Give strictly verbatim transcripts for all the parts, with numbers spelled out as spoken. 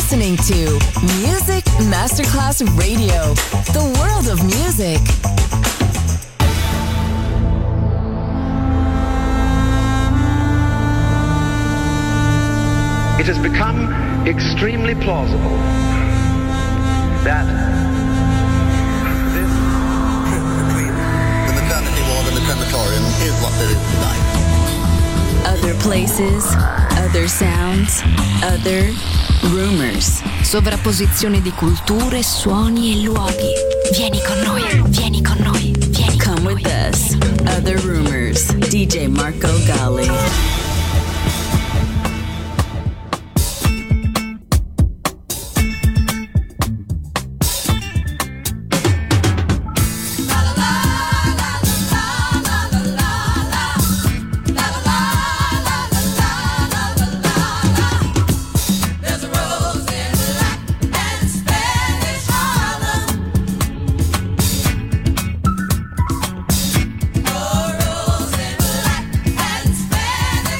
listening to Music Masterclass Radio, the world of music. It has become extremely plausible that this trip between the maternity ward and the crematorium is what there is tonight. Other places, other sounds, other rumors. Sovrapposizione di culture, suoni e luoghi. Vieni con noi, vieni con noi, vieni con Come noi. with us. Other rumors. D J Marco Gally. Spanish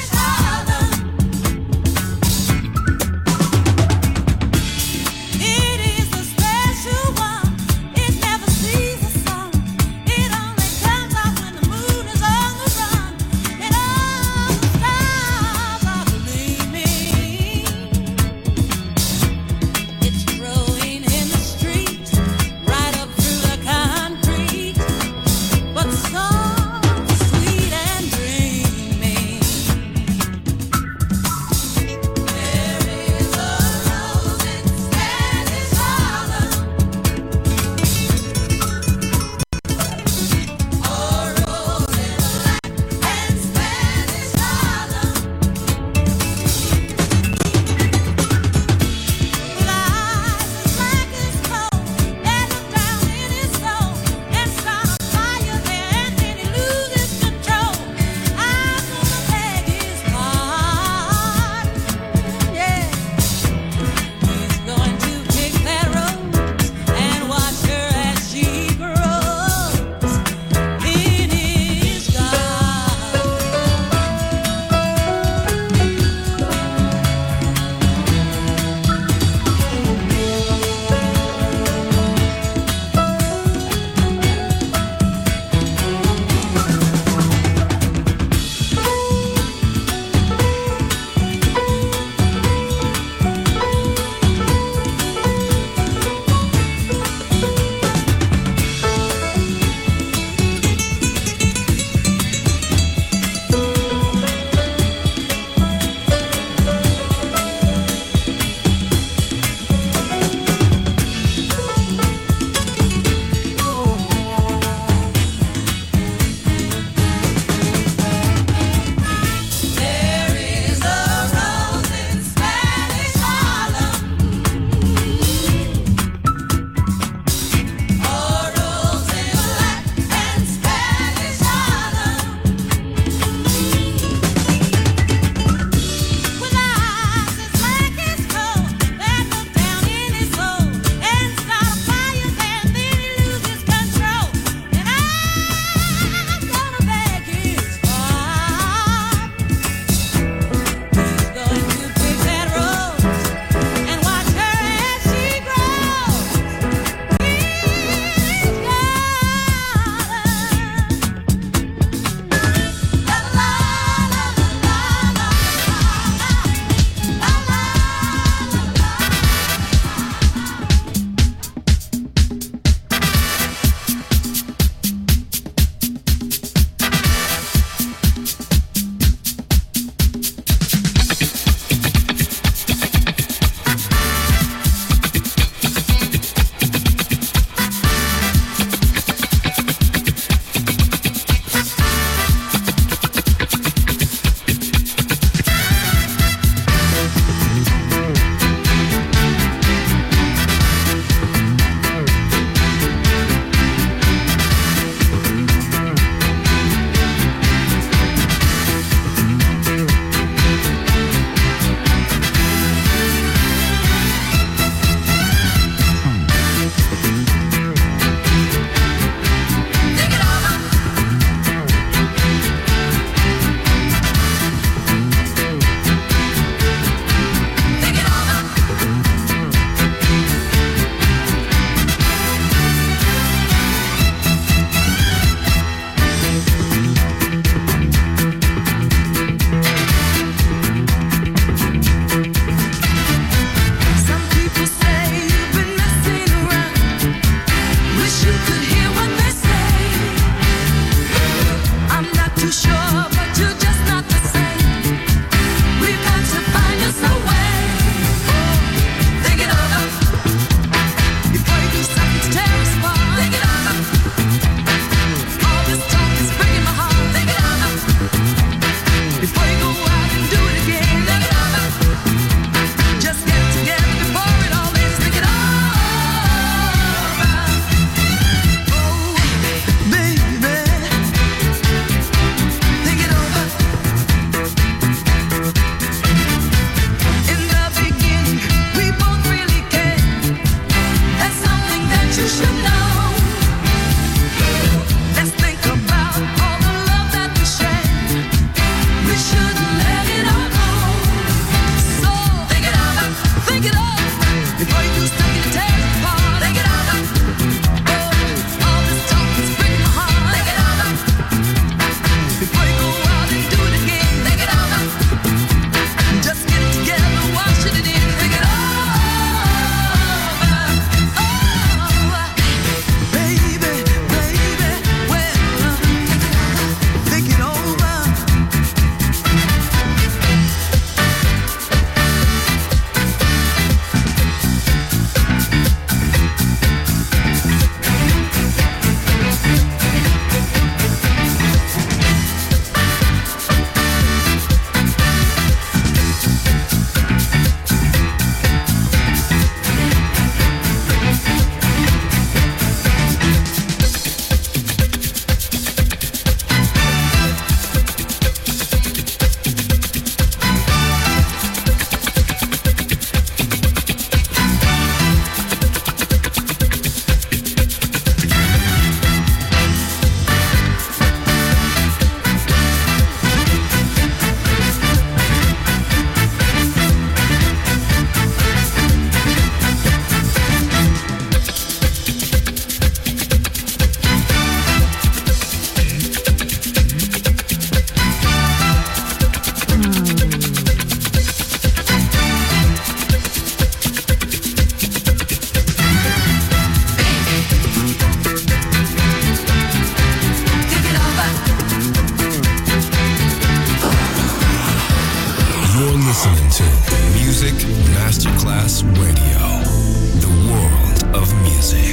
Masterclass Radio, the world of music.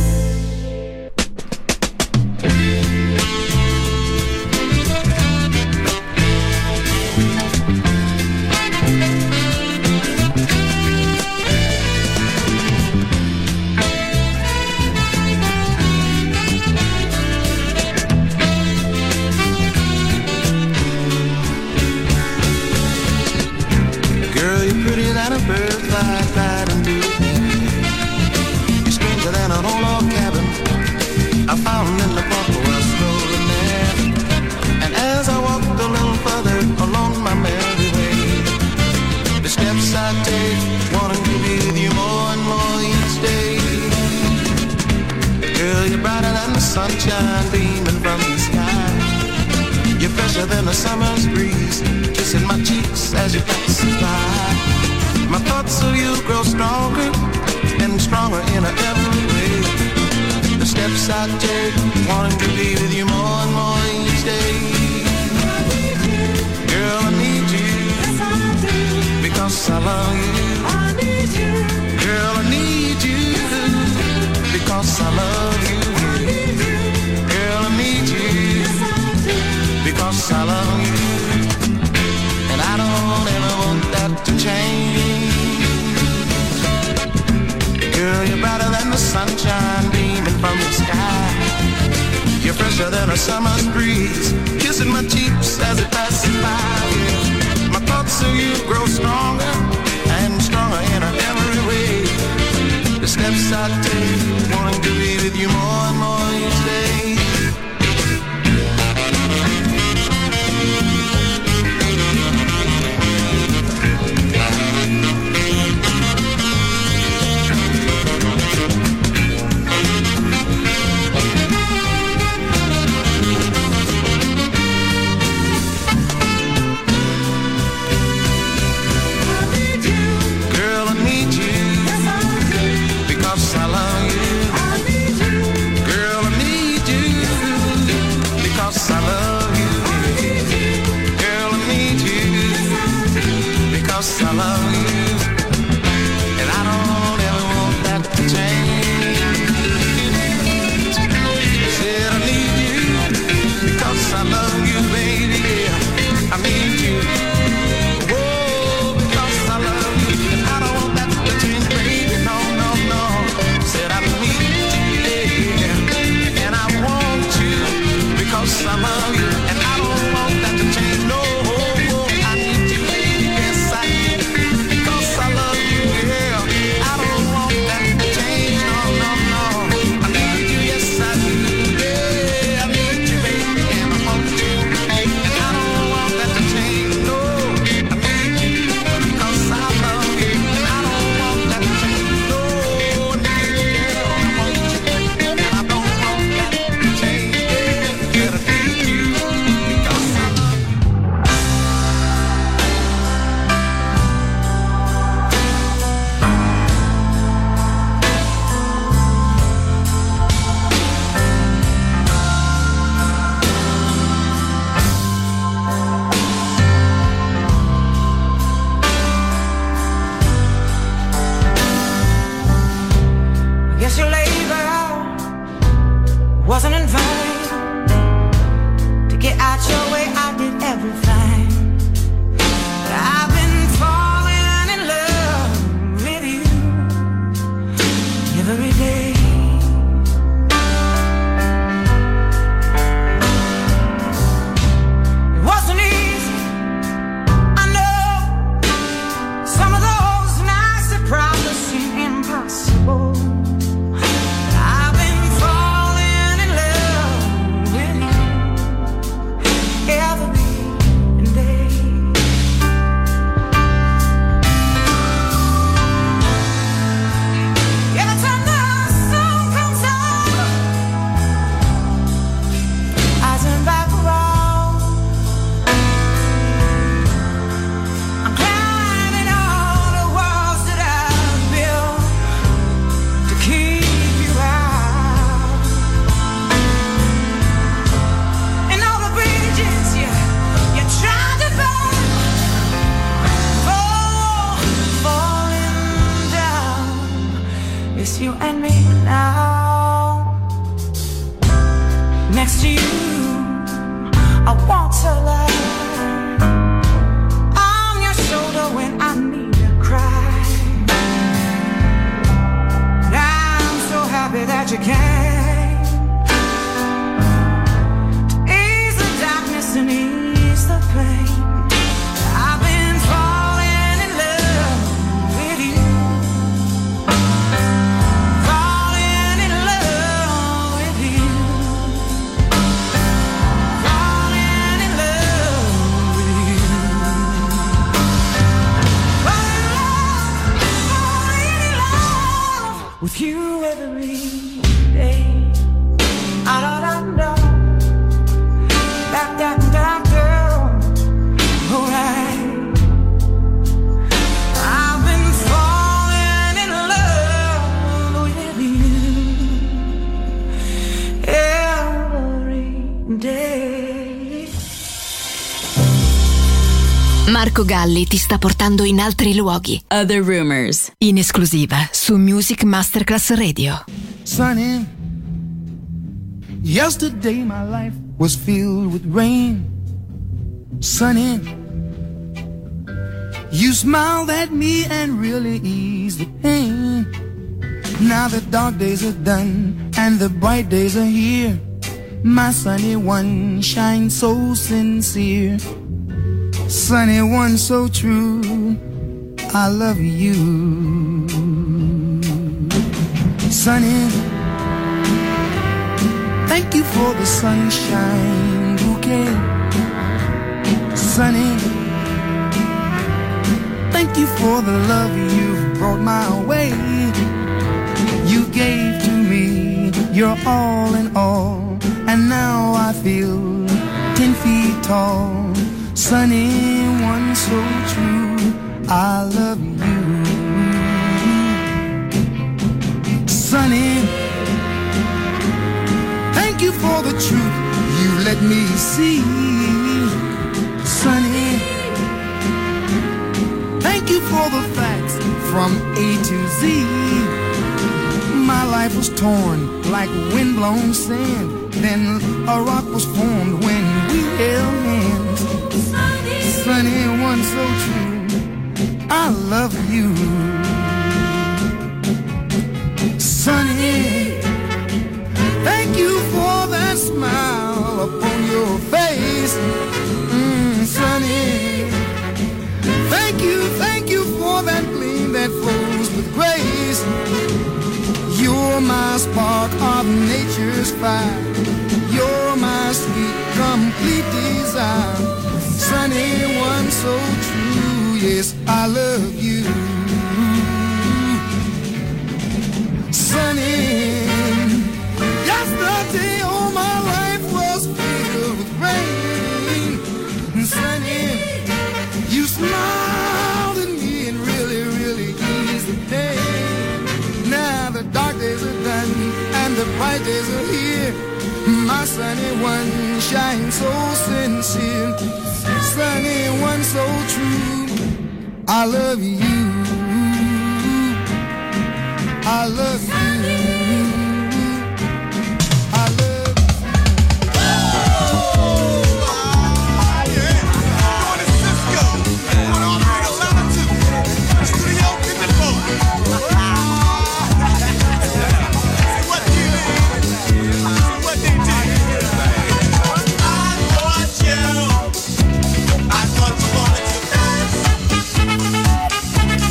Sunshine beaming from the sky. You're fresher than a summer's breeze, kissing my cheeks as you pass by. My thoughts of you grow stronger and stronger in every way. The steps I take, wanting to be with you more and more each day. Girl, I need you, yes I do, because I love you. I need you, girl, I need you, because I love you. Because I love you, and I don't ever want that to change. Girl, you're brighter than the sunshine beaming from the sky. You're fresher than a summer's breeze, kissing my cheeks as it passes by. Yeah. My thoughts of you grow stronger and stronger in every way. The steps I take, wanting to be with you more and more each day. place you and me now. Next to you, I want to lie on your shoulder when I need to cry. And I'm so happy that you came to ease the darkness and ease the pain. I've been falling in love with you, falling in love with you, falling in love with you, falling in love with you every day. Ah, da, da, da. Da, da, da, da. Alright. I've been falling in love with you every day. Marco Galli ti sta portando in altri luoghi. Other Rumors. In esclusiva su Music Masterclass Radio. Sunny, yesterday my life was filled with rain. Sunny, you smiled at me and really eased the pain. Now the dark days are done and the bright days are here. My sunny one shines so sincere. Sunny one so true, I love you. Sunny, thank you for the sunshine bouquet. Sunny, thank you for the love you've brought my way. You gave to me your all in all, and now I feel ten feet tall. Sunny one so true, I love you. Sunny, thank you for the truth you let me see. Sunny, thank you for the facts from A to Z. My life was torn like windblown sand, then a rock was formed when we held hands. Sunny one so true, I love you. Sunny, thank you for that smile upon your face. Mm, Sunny, thank you, thank you for that gleam that flows with grace. You're my spark of nature's fire. You're my sweet, complete desire. Sunny one so true, yes, I love you. Sunny, yesterday all my life was filled with rain. Sunny, you smiled at me and really, really eased the pain. Now the dark days are done and the bright days are here. My sunny one shines so sincere. Sunny one so true, I love you. I love you. I love you. I thought you wanted to dance.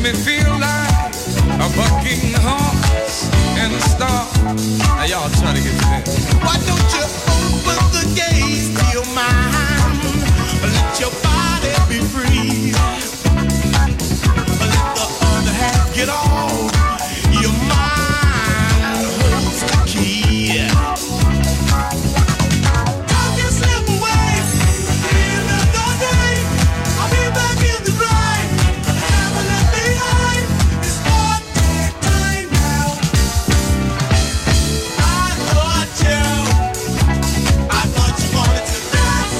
me feel like a bucking horse and a star. Now y'all try to get to that. Why don't you open the gates to your mind? Let your body be free. Let the other half get off. Your mind holds the key. Don't get slip away. Another day, I'll be back in the grind. Never left behind. It's hard time now. I thought you, I thought you wanted to dance.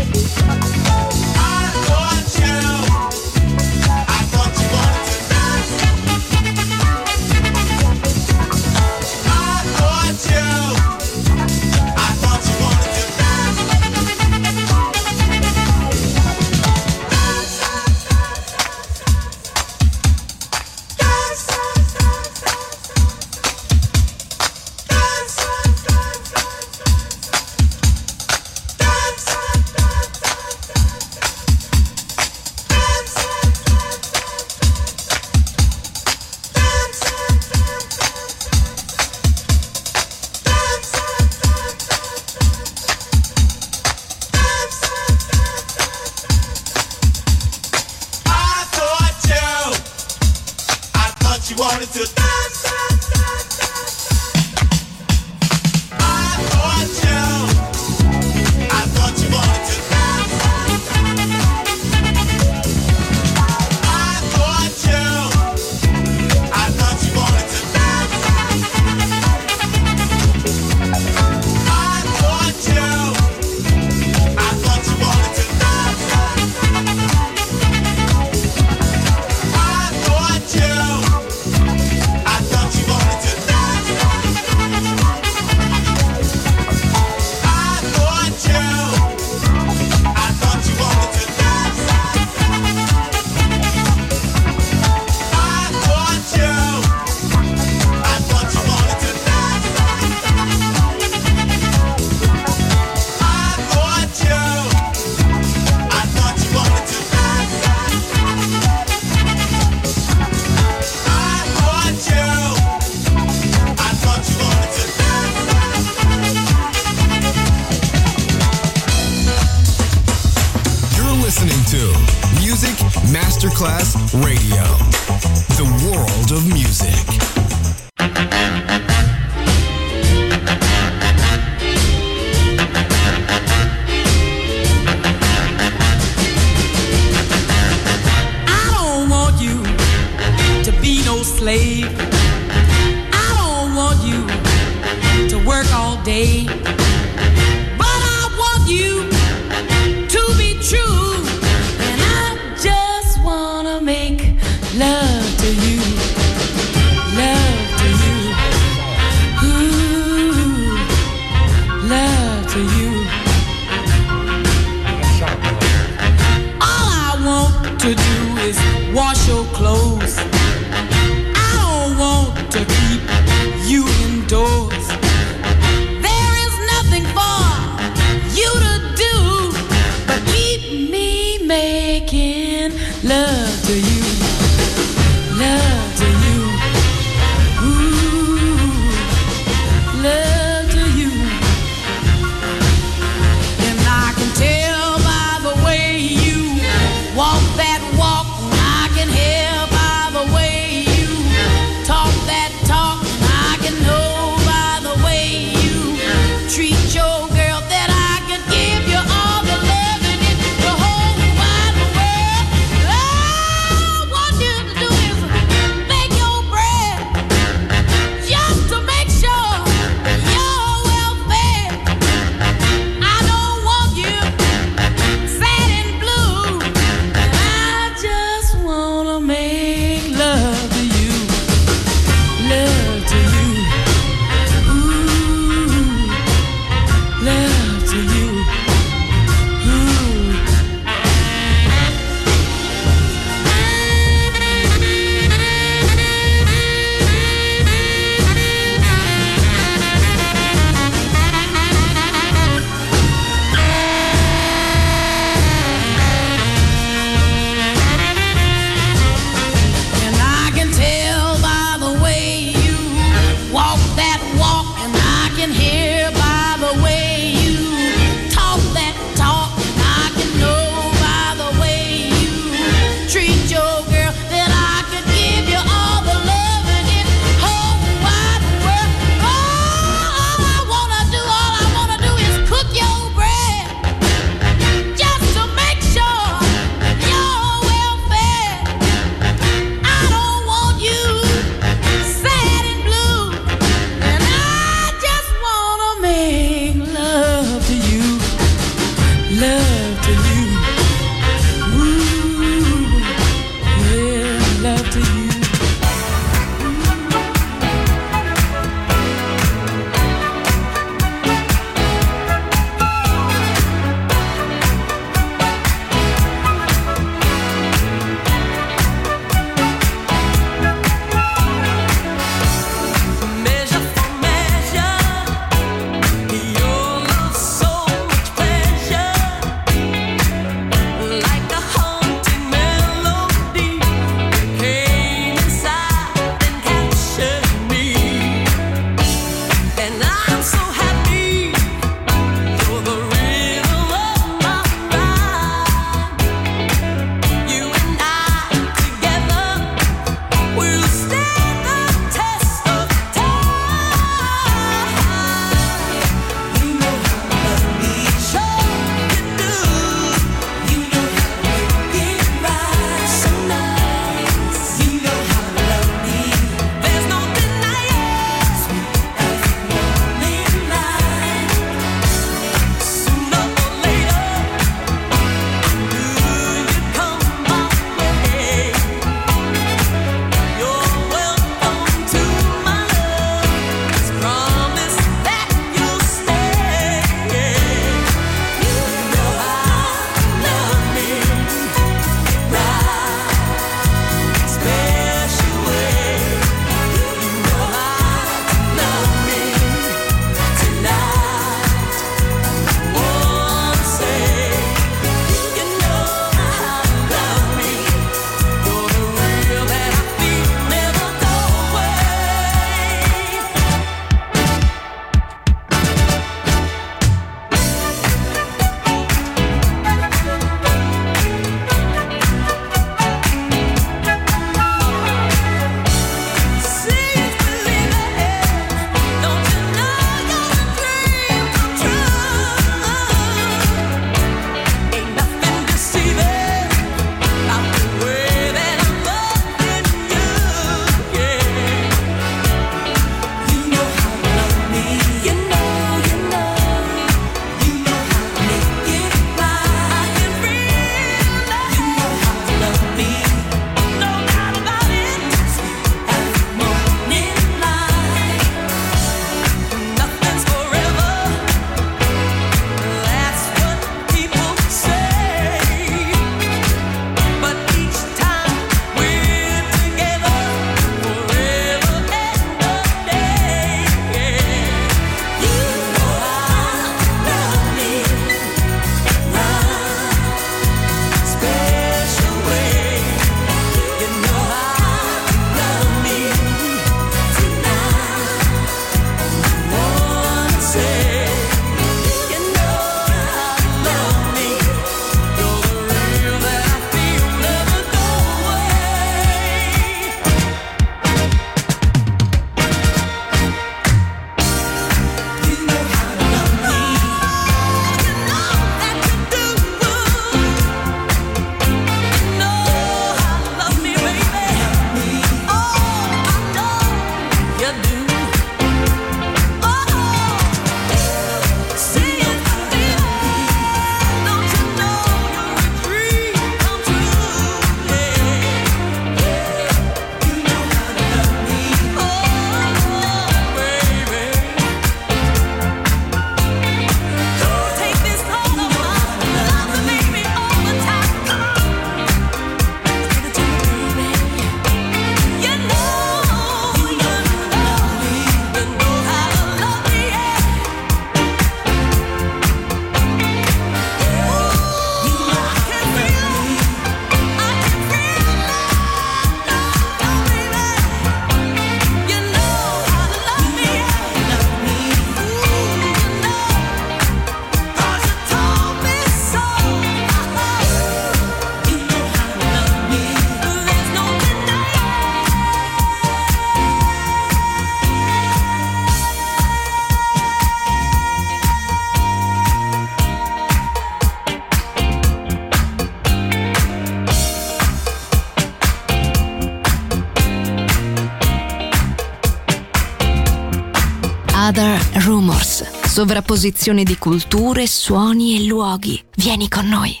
Other Rumors. Sovrapposizione di culture, suoni e luoghi. Vieni con noi.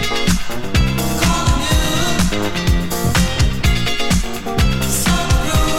Some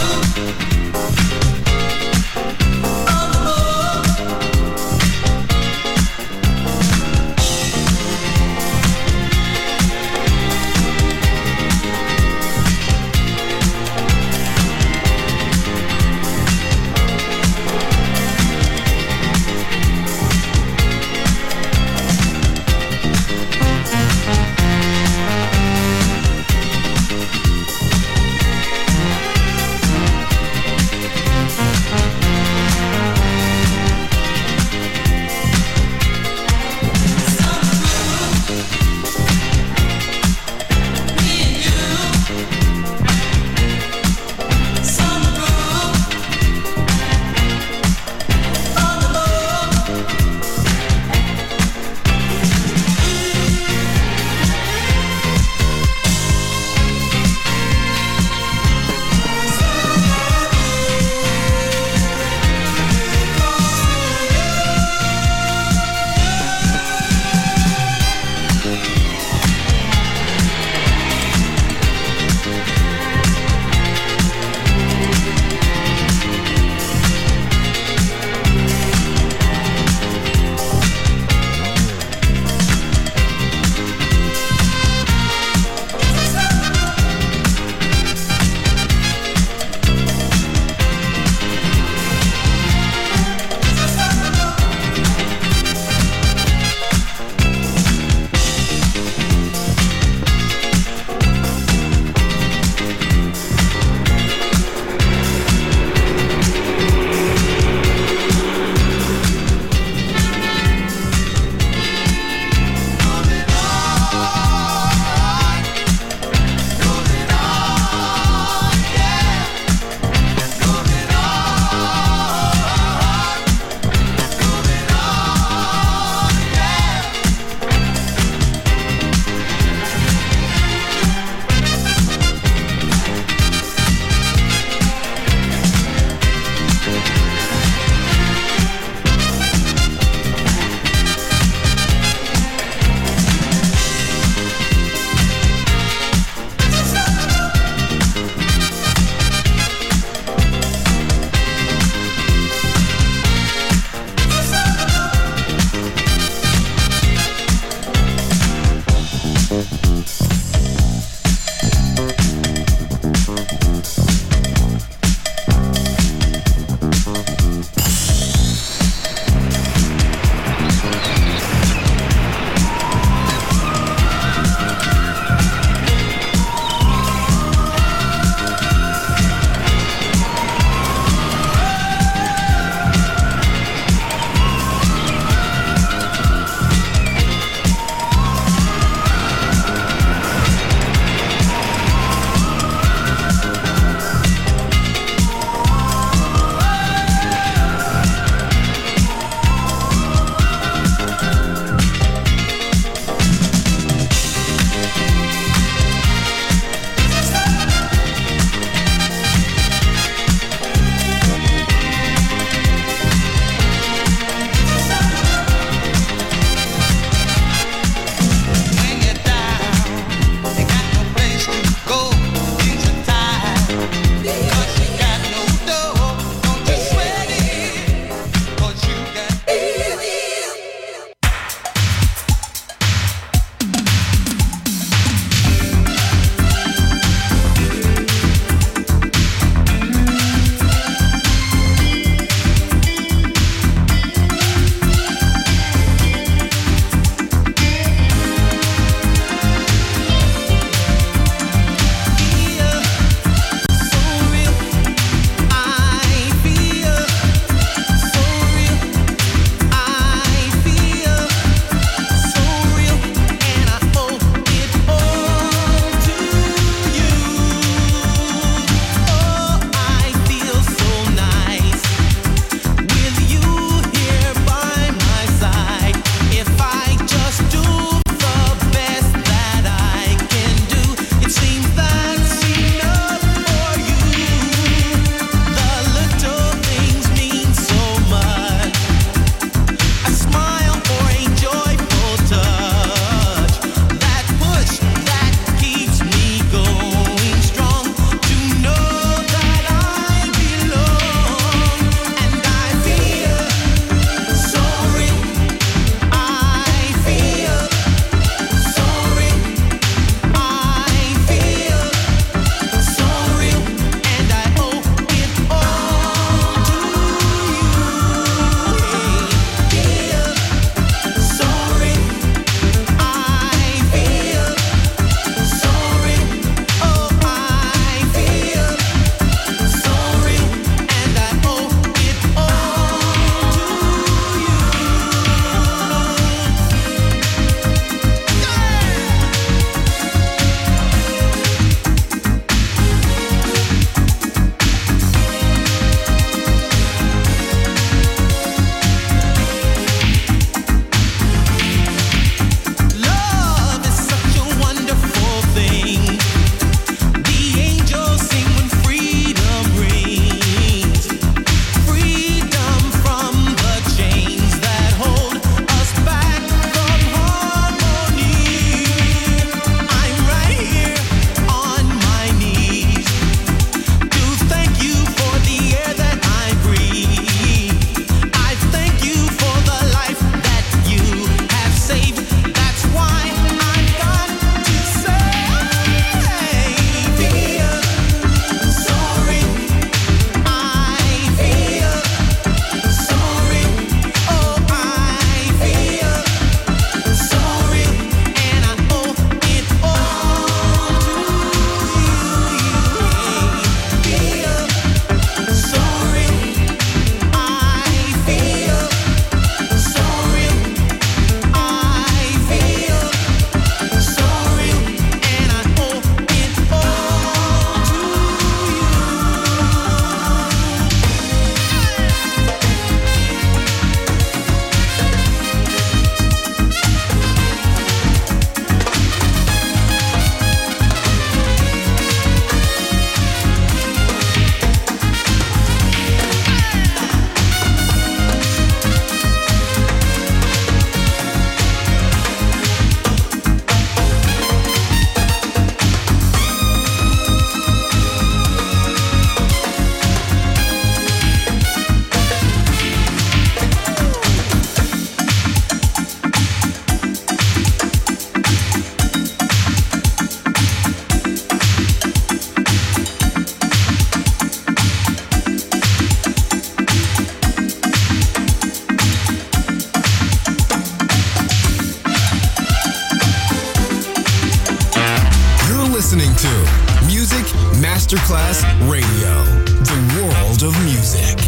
listening to Music Masterclass Radio, the world of music.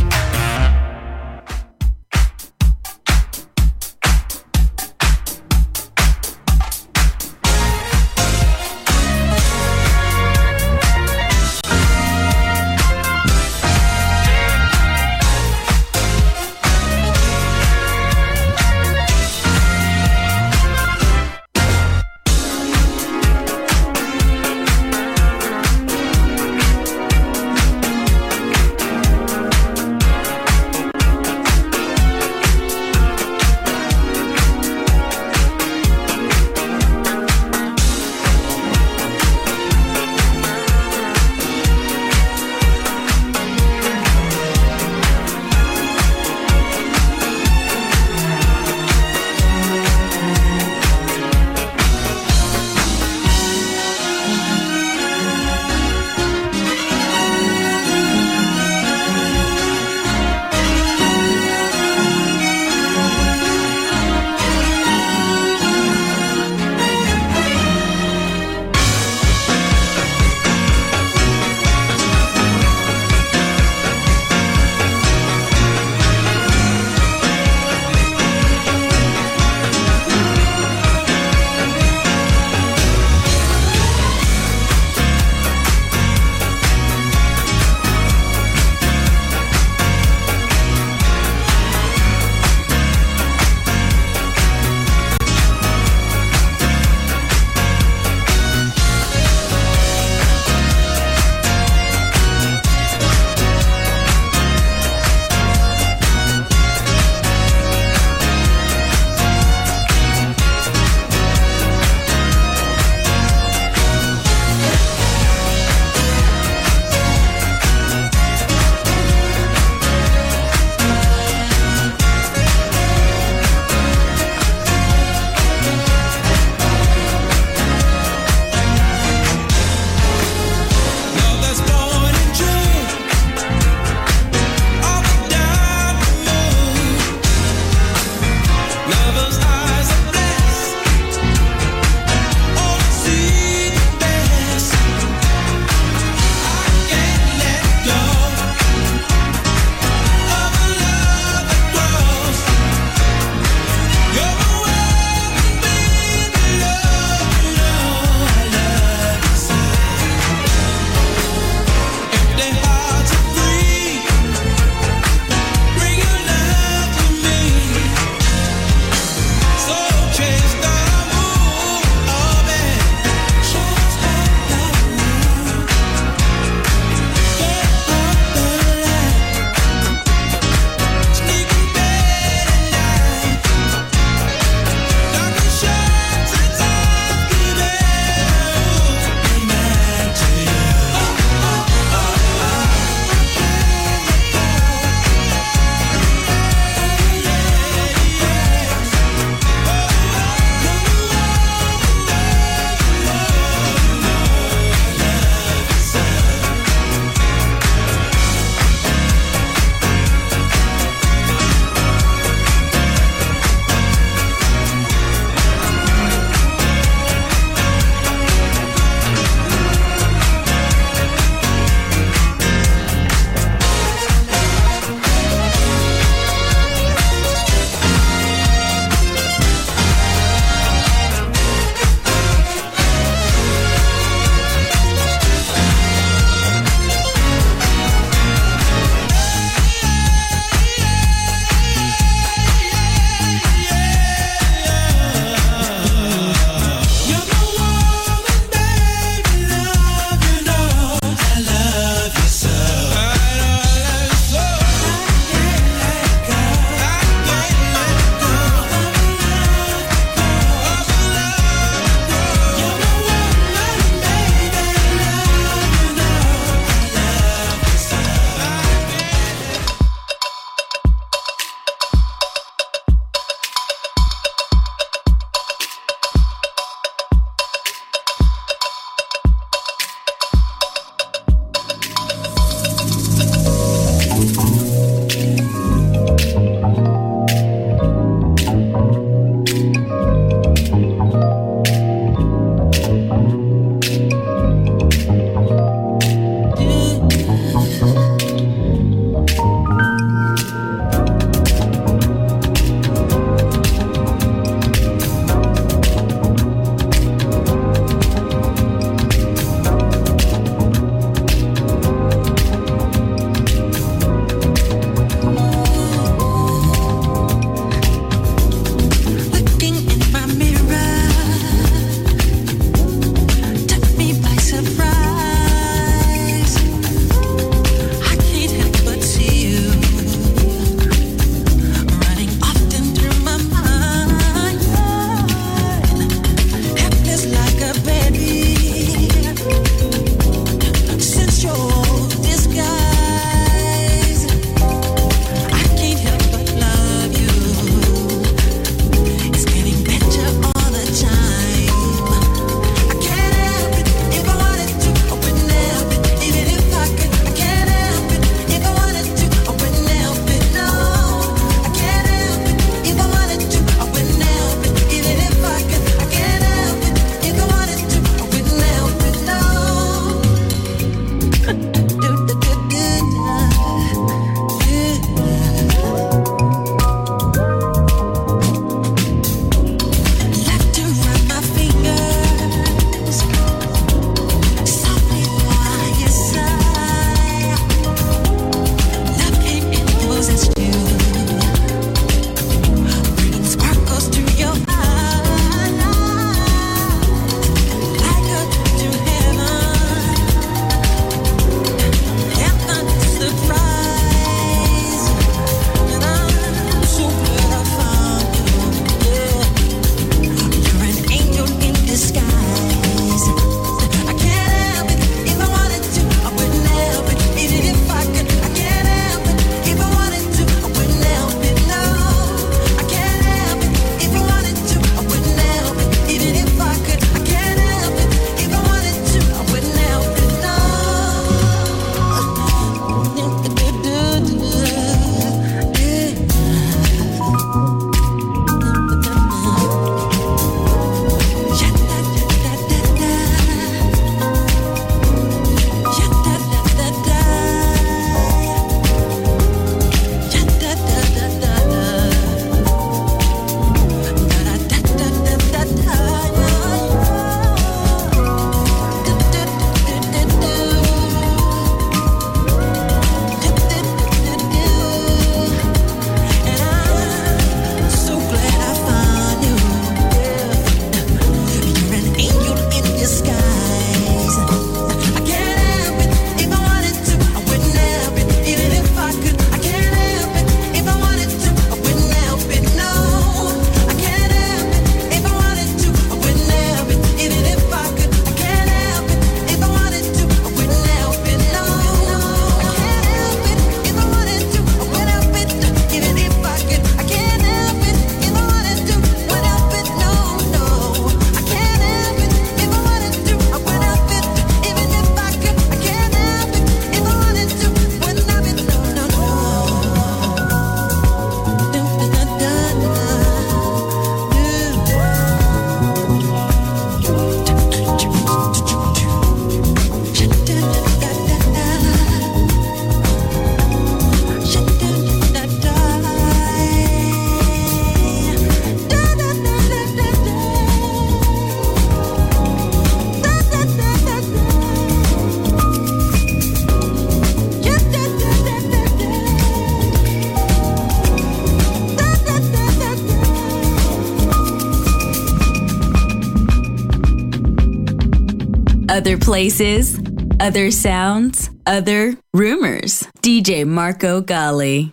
Other places, other sounds, other rumors. D J Marco Gally.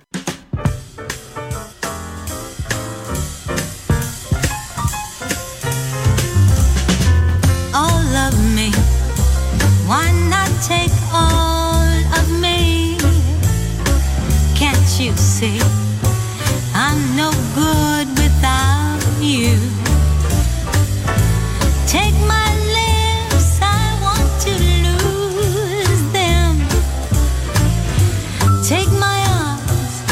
All of me, why not take all of me? Can't you see I'm no good without you? Take my lips, I want to lose them. Take my arms,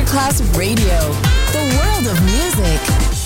Masterclass Radio, the world of music.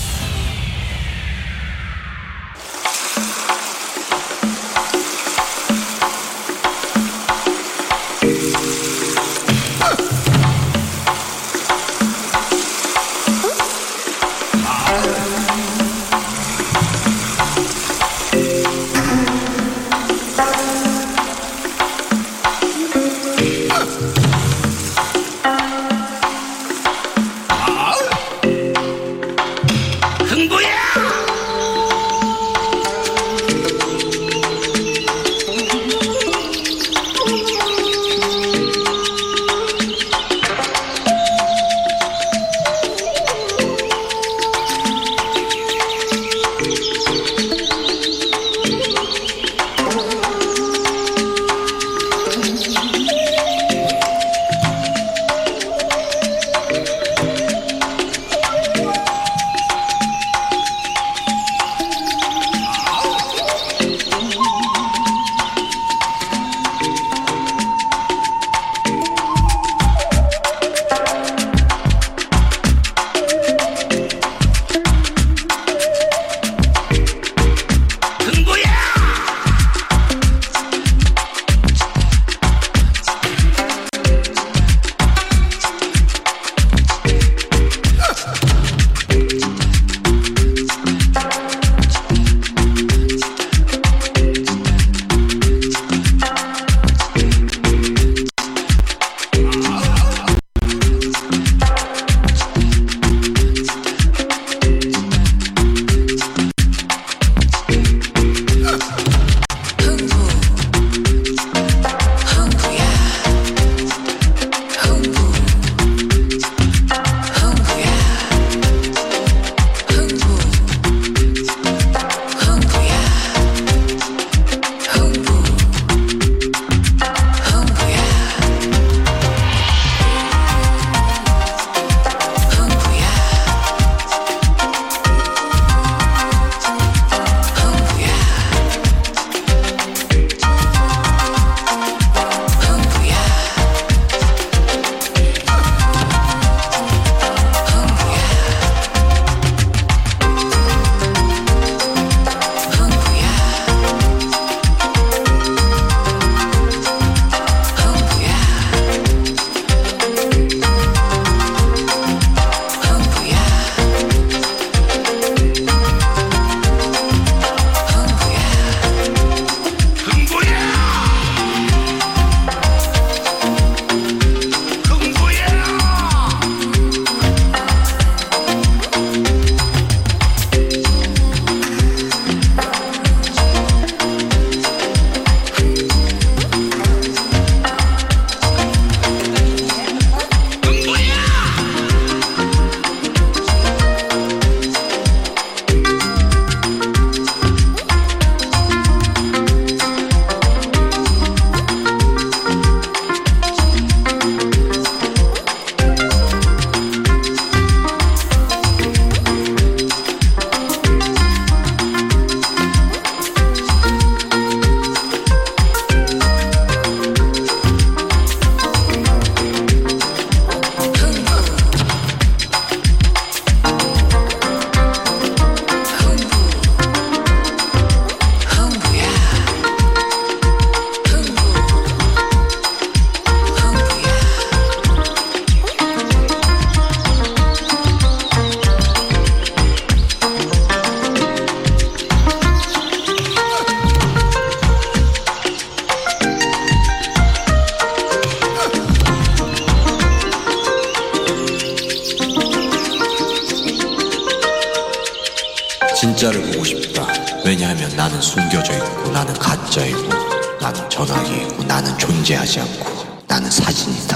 진짜를 보고 싶다. 왜냐하면 나는 숨겨져 있고 나는 가짜이고 나는 전화기이고 나는 존재하지 않고 나는 사진이다.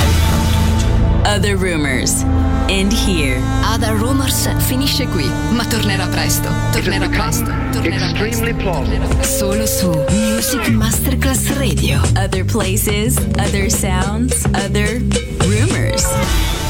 Other Rumors. End here. Other Rumors finisce qui, ma tornerà presto. Tornerà presto. Tornerà presto. Tornerà presto. Solo su Music Masterclass Radio. Other places, other sounds, other rumors.